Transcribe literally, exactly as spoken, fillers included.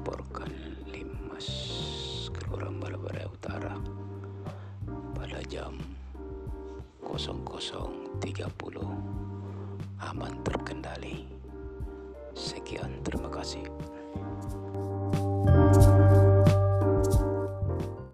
melaporkan Limas Kelurahan Balai Utara pada jam nol nol tiga puluh aman terkendali.